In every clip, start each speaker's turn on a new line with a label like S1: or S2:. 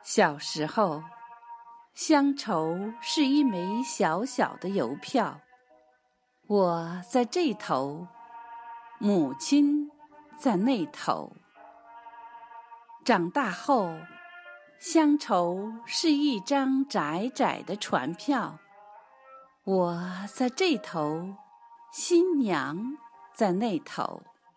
S1: 小时候，乡愁是一枚小小的邮票，我在这头，母亲在那头。长大后，乡愁是一张窄窄的船票，我在这头，新娘在那头。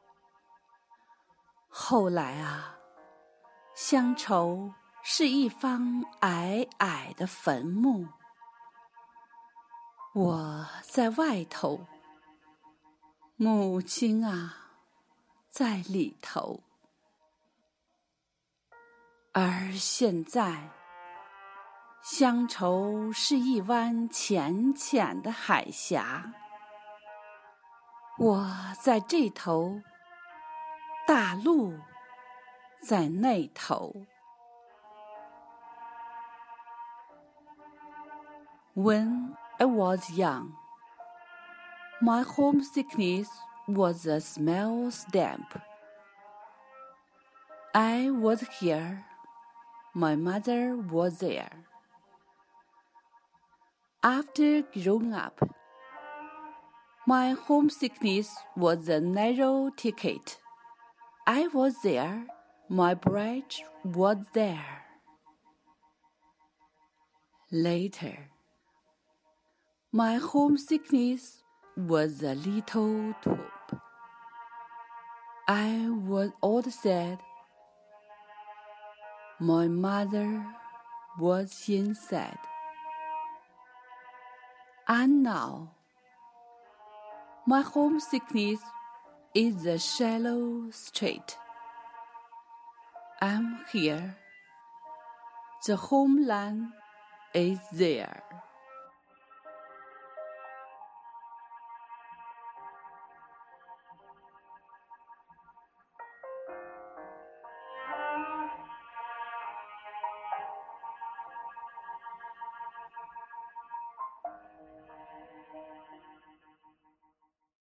S1: 后来啊，乡愁是一方矮矮的坟墓，我在外头，母亲啊，在里头。而现在，乡愁是一湾浅浅的海峡，我在这头，大陆在那头。When I was young, my homesickness was a small stamp. I was here, my mother was there. After growing up, my homesickness was a narrow ticket. I was there, my bridge was there. Later, my homesickness was a little tube. I was old sad. My mother was inside. And now, my homesickness is a shallow strait. I'm here. The homeland is there.